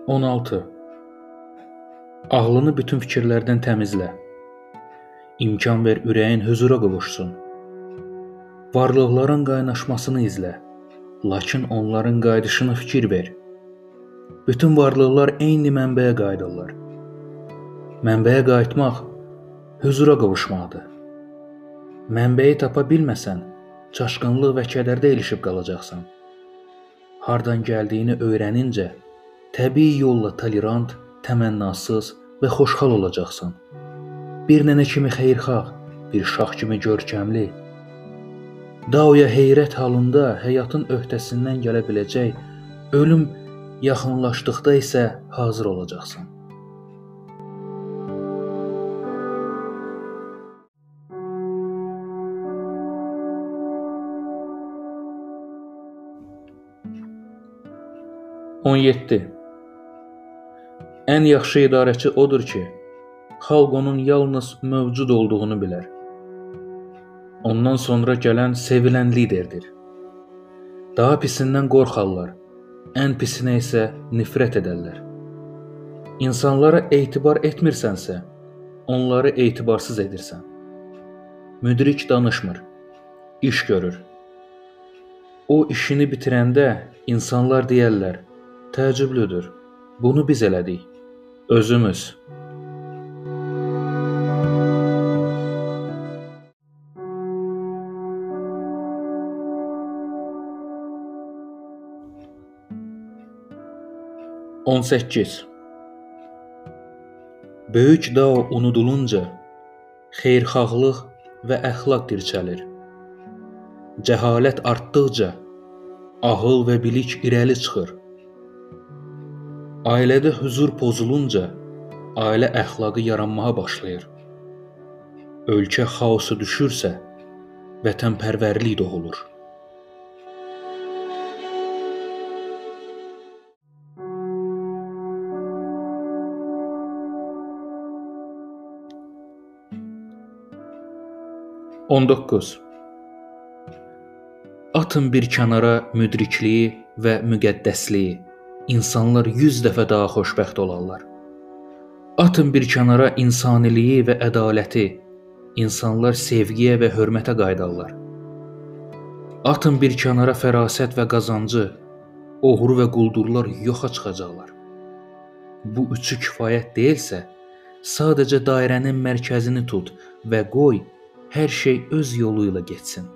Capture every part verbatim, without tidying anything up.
on altı. Ağlını bütün fikirlərdən təmizlə. İmkan ver ürəyin huzura qovuşsun. Varlıqların qaynaşmasını izlə, lakin onların qaydışına fikir ver. Bütün varlıqlar eyni mənbəyə qayıdırlar. Mənbəyə qayıtmaq huzura qovuşmaqdır. Mənbəyi tapa bilməsən, çaşqınlıq və kədərdə ilişib qalacaqsan. Hardan gəldiyini öyrənincə, təbii yolla tolerant, təmənnasız və xoşhal olacaqsan. Bir nənə kimi xeyirxah, bir şax kimi görkəmli. Daoya heyrət halında həyatın öhdəsindən gələ biləcək, ölüm yaxınlaşdıqda isə hazır olacaqsan. on yeddi. Ən yaxşı idarəçi odur ki, xalq onun yalnız mövcud olduğunu bilər. Ondan sonra gələn sevilən liderdir. Daha pisindən qorxarlar, ən pisinə isə nifrət edərlər. İnsanlara etibar etmirsənsə, onları etibarsız edirsən. Müdrik danışmır, iş görür. O işini bitirəndə insanlar deyərlər, təəccüblüdür, bunu biz elədik, özümüz. on səkkiz. Böyük dao unudulunca, xeyirxahlıq və əxlaq dirçəlir. Cəhalət artdıqca, ağıl və bilik irəli çıxır. Ailədə huzur pozulunca, ailə əxlaqı yaranmağa başlayır. Ölkə xaosu düşürsə, vətənpərvərlik doğulur. on doqquz. Atın bir kənara müdrikliyi və müqəddəsliyi. İnsanlar yüz dəfə daha xoşbəxt olarlar. Atın bir kənara insaniliyi və ədaləti. İnsanlar sevgiyə və hörmətə qayıdarlar. Atın bir kənara fərasət və qazancı. Oğru və quldurlar yoxa çıxacaqlar. Bu üçü kifayət deyilsə, sadəcə dairənin mərkəzini tut və qoy hər şey öz yolu ilə getsin.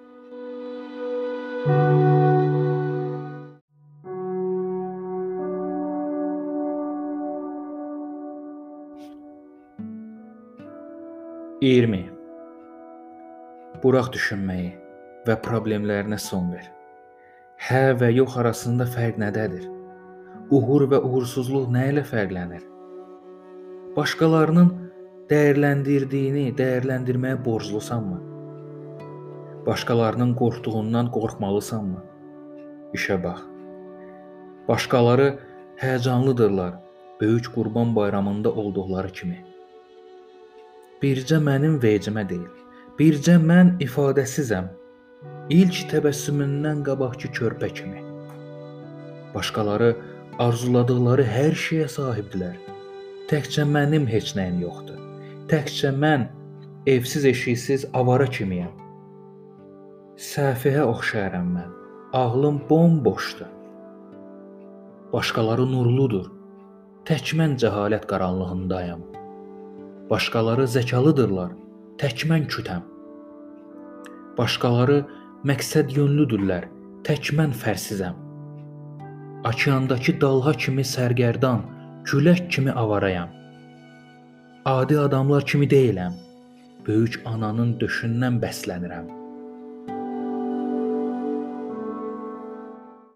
iyirmi. Burax düşünməyi və problemlərinə son ver. Hə və yox arasında fərq nədədir? Uğur və uğursuzluq nə ilə fərqlənir? Başqalarının dəyərləndirdiyini dəyərləndirməyə borclusanmı? Başqalarının qorxduğundan qorxmalısanmı? İşə bax. Başqaları həyəcanlıdırlar, böyük Qurban bayramında olduqları kimi. Bircə mənim vecimə deyil, bircə mən ifadəsizəm, ilk təbəssümündən qabaqki körpə kimi. Başqaları arzuladıqları hər şeyə sahibdilər, təkcə mənim heç nəyim yoxdur, təkcə mən evsiz eşiksiz avara kimiyəm. Səfihə oxşayaram mən, ağlım bomboşdur. Başqaları nurludur, tək mən cəhalət qaranlığındayam. Başqaları zəkalıdırlar, tək mən kütəm. Başqaları məqsəd yönlüdürlər, tək mən fərsizəm. Okeandakı dalğa kimi sərgərdan, külək kimi avarayam. Adi adamlar kimi deyiləm, böyük ananın döşündən bəslənirəm.